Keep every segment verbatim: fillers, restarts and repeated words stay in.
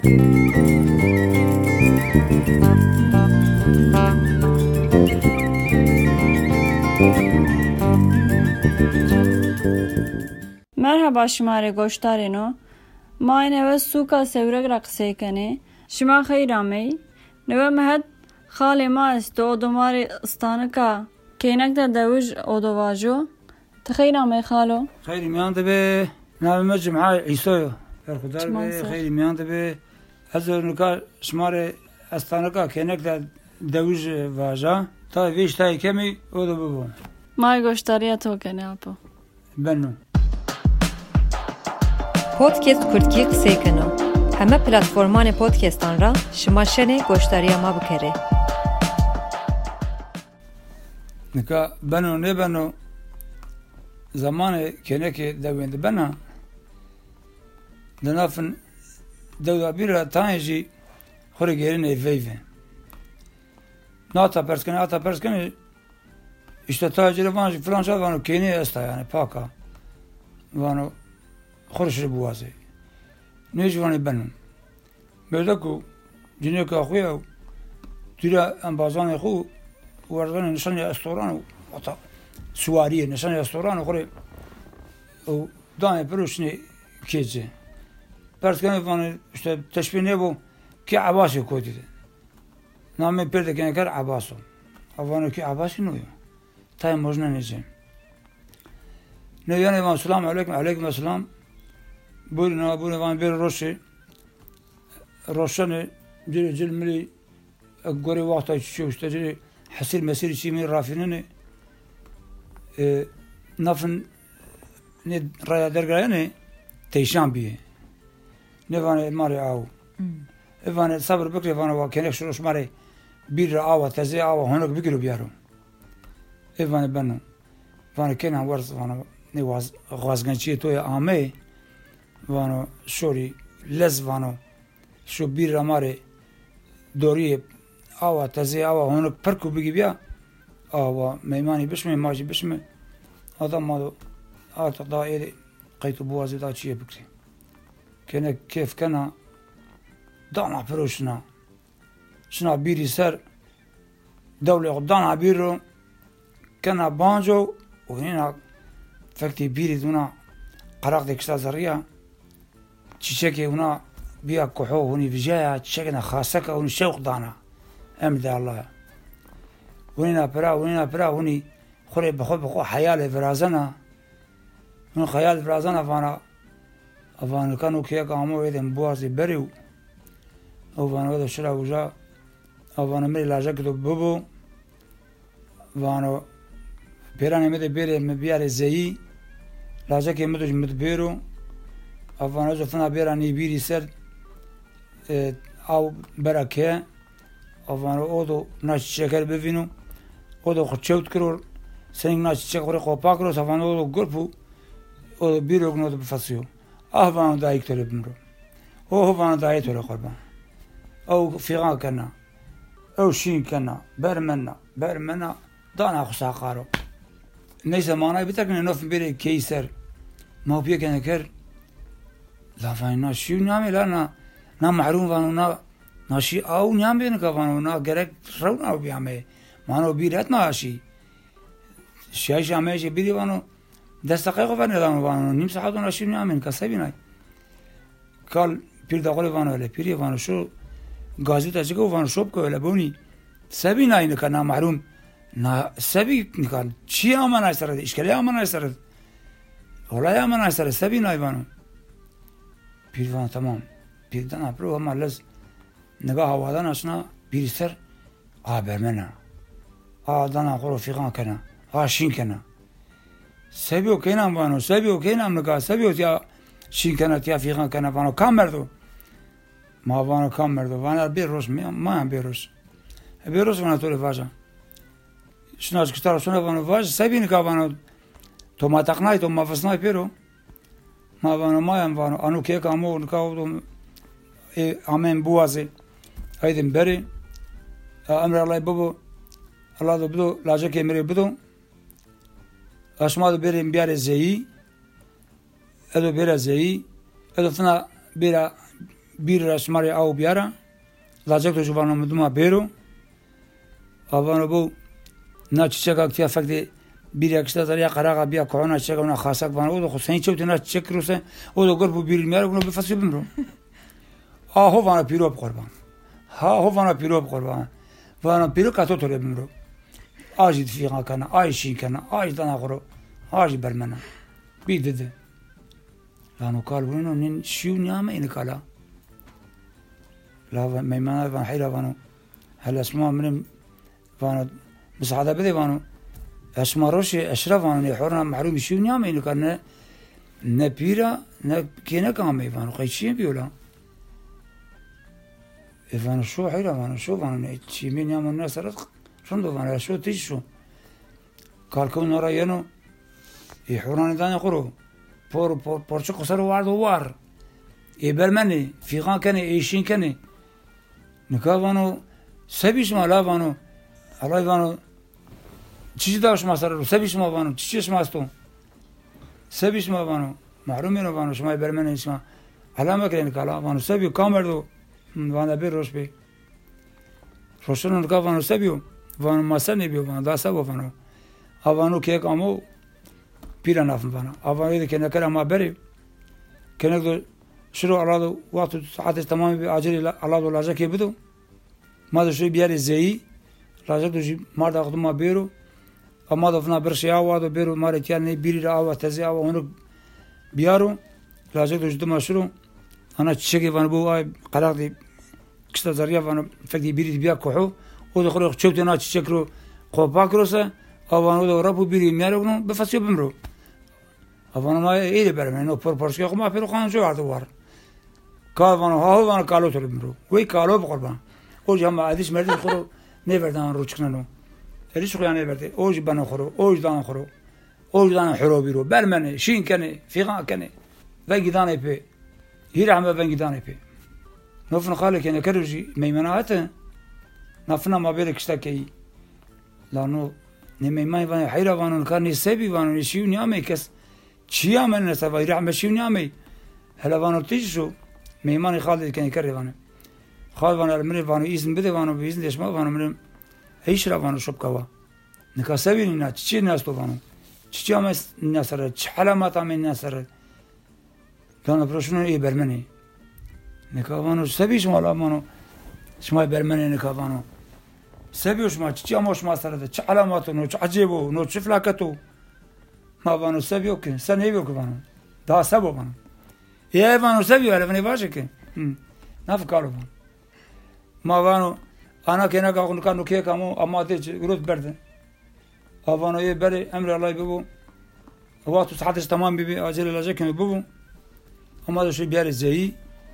مرحبا شماره گوشتارینو ما این اوه سوکا سورگ را قصه کنی شما خیرامی نوه مهد خالی ما است و دوماری استانکا که نکتا دوج او دواجو تخیرامی خالو خیلی میان به نام مجمع عیسی برخودار به خیلی میان به از نکا شماره استانکا که نکتا دوج واجا تا ویش تای کمی او دو ببون مای گوشتاریا تو کنی اپو بنو پودکست کردکی قصه کنو همه پلتفرمان پودکستان را شما شنه گوشتاری ما بکره نکا بنو نه بنو زمان کنه که دوینده بنا دنافن دو بیره تانجی خوری گیرین ایفیفه ناتا پرسکنه آتا پرسکنه işte taciri vanjı falan şey vanu keni esta yani paka vanu خورشی بوازه نیجوانی بنم بوده کو جنیه که خویه دیره انبازان خو وردن نشانی استوران و حتی سواریه نشانی استوران و خوری و دانه پروشنی کیجه پرس کنه وانه işte تشبیه نبو که عباسی کودیده نامه پرده کنه کر عباسو وانه که عباسی نویو تای مجنه نیجه نیانه وان سلام علیکم علیکم السلام بورنا بورنا وان بير روشي روشانه جري جل ملي غوري وقت شو اشتري حسير مسير شي من رافينني اه نفن ند رايا درغاني تيشان بي نفان ماري او افان صبر بكري فان واكنك شروش ماري بير او تزي او هناك بيجرو بيارو افان بنو فان كان ورز فان نواز غازغنچي تو امي وانو شوری لز وانو شو بیر رماره دوری آوا تازه آوا هنوک پرکو بگی بیا آوا میمانی بشمه ماجی بشمه آدم ما دو آتا دا ایده قیتو بوازی دا چیه بکری کنه کیف کنه دانا پروشنا شنا بیری سر دوله دانا بیر رو کنه بانجو و هینا فکتی بیری دونا قراق دکشتا زریه چیچکی اونا بیا کحو هونی بجایا چیچکنا خاصکا هونی شوق دانا امد الله هونینا پرا هونینا پرا هونی خوری بخو بخو حیال فرازنا هون خیال فرازنا فانا افان کانو کیا کامو ایدم بوازی بریو افان ودا شرا وجا افان مری لاجا کدو ببو وانو پیرانی مده بیره مبیار زیی لاجا که مدوش مدبیرو افغانه زفنا بیرانی بیری سر او برکه افغانه او دو ناچ شکر ببینو او دو خود چوت کرور سنگ ناچ شکر خوپا کرو افغانه او دو گرپو او دو بیرو کنو دو بفاسیو افغانه دایک تولی بمرو او افغانه دایک تولی قربان او فیغان کنا او شین کنا برمنا برمنا دانا خسا قارو نیسه مانای بیتکنه نوف بیره کیسر ما بیا کنه کر لا فاينا شو نعمل لا نا نا محروم وانو نا ناشي او نعمل بينك وانو نا غرق رونا بيعمل ما نو بيرت ناشي شاي شامي شي بيدي وانو دست دقيقه وانو وانو نيم ساعه ناشي نعمل كسبينا قال بير دقول وانو له بيري وانو شو غازي تاجيكو وانو شوب كو لبوني سبينا انك نا محروم نا سبي كان شي امانه سر اشكاليه امانه سر ولا امانه سر سبينا وانو پیروان تمام پیردن اپرو اما لز نگاه هوادان اشنا پیری سر آه برمنا آه دانا خورو فیقان کنا آه شین کنا سبیو کینام بانو سبیو کینام نگاه سبیو تیا شین کنا تیا فیقان کنا بانو کام مردو ما بانو کام مردو وانا بیر روش ما هم بیر روش بیر روش وانا طول فاجا شناش کشتار شنا بانو فاجا سبی نگاه بانو تو ما تقنای تو ما فسنای پیرو ما بانو مایم بانو انو که کامو نکاو تو امن بوازه هیدم بری امر الله بابو الله دو بدو لاجه که میری بدو اشما دو بریم بیاره زیی ادو بیره زیی ادو فنا بیره بیر رسماری آو بیاره لازم تو جوانم مدوما بیرو آوانو بو نه چیچه که اکتیا فکتی بیر اکشتا داریا قراغا بیا کهانا چیچه که اونا خاصک وانو او دو خود سنی چوتی نه چیچه کروسه او دو گربو بیر میاره اونو بفصیل بمرو آهو وانا پیرو بقربان ها هو وانا پیرو بقربان وانا پیرو کاتو توله بمرو آجی دفیقا کنه آی شین کنه آی دانا خورو آجی برمنه بیدده لانو قال ونو نين شيو نيامه إن كلا لا ميمانا فان حيرا فانو هل اسماء من فانو بس هذا بدي فانو اسماء روشي اشرف فانو يحورنا محروم شيو نيامه إن كنا نبيرا نكينا كامي فانو قيشين بيولا فانو شو حيرا فانو شو فانو شي مين نيامه الناس رزق شندو فانو شو تيشو قال كون نورا ينو يحورنا داني خرو por por por çu qasar var do var e bermeni figan kene eşin kene nikavano sebiş ma lavano alayvano çiçi daş masar sebiş ma vano çiçi masto sebiş ma vano mahrumin vano şmay bermeni şma alama kren kala vano sebi kamerdo vana bir roşbe roşun nikavano sebiyo vano masane biyo vano da sabo vano avano kek amo بيرا نافن فانا أفضل كنا كنا ما بري كنا دو شروع على دو وقت ساعات تمام بأجري على دو لاجا كي بدو ما دو شيء بياري زي لاجا دو جي مرد أخذ ما بيرو أما دو فنا برشي أوا دو بيرو ماري تياني بيري رأوا تزي أوا هنوك بيارو لاجا دو جدو ما شروع أنا تشكي فانا بو آي قراق دي كشتا زريا فانا فكدي بيري بيا كحو ودو خلق شوتنا تشكرو قوباكروسا أفانو دو رابو بيري ميارو بفاسيو بمرو أفانو ما إيدي برمين أو بربرسكي أخو ما فيرو خانو شو عردو وار قال فانو هاو فانو كالو تولي بمرو وي كالو بقربان أوجي هما عديش مردين خورو نيبردان رو چكنانو إريش خيان نيبردي أوجي بانو خورو أوجي دانو خورو أوجي دانو حرو بيرو برمني شين كني فيغان كني فنجي داني بي هيرا عما فنجي داني بي نوفن خالي كني كروجي ميمناته نفنا ما بيرك اشتاكي لانو نميمان فانو حيرا فانو كان يسبي فانو يشيو نيامي كس چيا من نسبا يرح مشيو نيامي هلا فانو تيجو ميمان خالد كان يكرر فانو خالد فانو المري فانو إذن بده فانو بإذن ليش ما فانو مريم هيش را فانو شب كوا نكاسبي لنا تشي الناس تو فانو تشي ما الناس سر تحلا ما تعمل الناس سر كانوا برشلونة إيه برمني نكا فانو سبي شو مالا فانو شما برمني نكا فانو سبيوش ما تشي أموش ما سرده تش علاماته نو تش عجيبه نو تش فلاكته ما بانو سبيو كن سنيبيو كبانو ده سبو بانو يا بانو سبيو على فني باشه كن نافكارو بانو ما بانو أنا كنا كأقول كانوا كي كمو أما تيج غروت برده أبانو يه بري أمر الله يبو وقت ساعتش تمام بيبي أجل الله كم يبو أما ده شيء بيار زي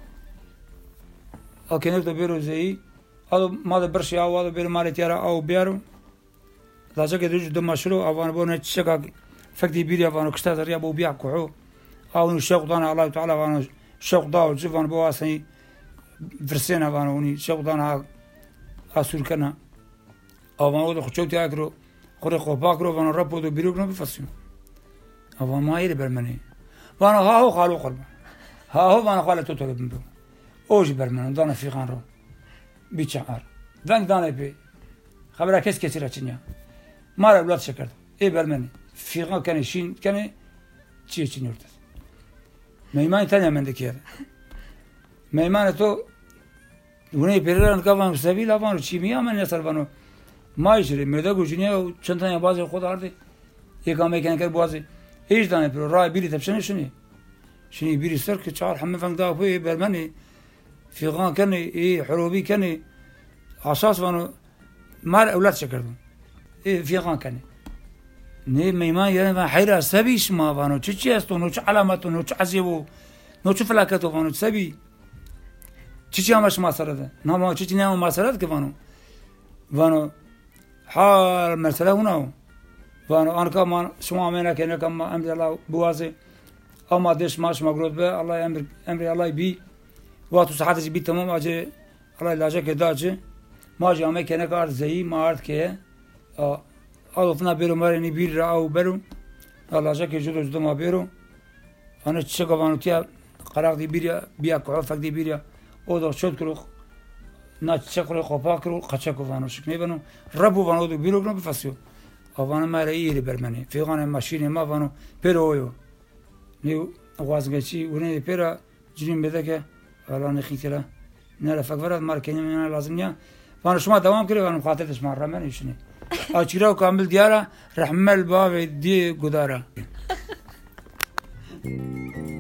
أكنه تبيرو زي هذا ما ده برشي أو هذا بير مالي تيارا أو بيارو لازم كده يجوا دم مشروع أو أنا بقول نتشجع فكدي بيري أو أنا كشتات ريا بو بيع كحو أو نشوق دانا الله تعالى وأنا شوق داو جف أنا بواسني فرسينا وأنا وني شوق دانا أسول كنا أو أنا وده خشوت يأكلوا خوري خباكرو وأنا ربو ده بيروكنا بفسيم أو ما يري برمني وأنا ها هو خالو قلبه ها هو وأنا خالو توتر بندو أوج برمني دانا في خانرو بيشعر دان دانه بي خبره كيس كثير اتنيا ما اولاد شكرت اي برمني في غا كان شين كان تشي تشي نورت ميمان ثانيه من دكير ميمان تو وني بيرن كمان سبيل افانو تشي ميا من يسربانو ما يجري ميدا گوجنيا چنتانيا باز خود ارده يقام كان كر بازي ايش دانه برو راي بيري تبشن شني شني بيري سرك تشار حمد فان دا بي برمني في غان كان إيه حروبي كان أساس وانو مار أولاد شكردون إيه في غان كان نه ميمان يعني ما حيرة سبيش ما وانو تشي استو نو تش علاماتو نو تش عزيبو نو تش فلاكتو وانو سبي تشي همش ما سرده نما تشي نما ما سرده كوانو وانو حال مرسله هنا وانو أنا كمان شو عملنا كنا كم أمر الله بوازي أما دش ماش مغرود به الله أمر أمر الله بي وقت ساعات بي تمام أجي الله لاجا كده أجي ما جامع كنا كار زي ما أرد كه آه ألفنا بيرو مرني بير أو بيرو الله لاجا كجودو جودو ما بيرو أنا تشجع وانو تيا قرار دي بيريا بيا كعفك دي بيريا o da çok kuru na çakuru kopa kuru kaçak ovanı şık ne banu rabu vanu do birok no bifasyo avanı mara iyi bermeni figane maşine ma vanu peroyo ne vazgeçi ونه pera cinim bedeke Allah ne khitela ne la fakvarat mar kendime lazım ya bana şuma devam kire benim xatir esma ramen işini açıra kamil diyara rahmel bav di gudara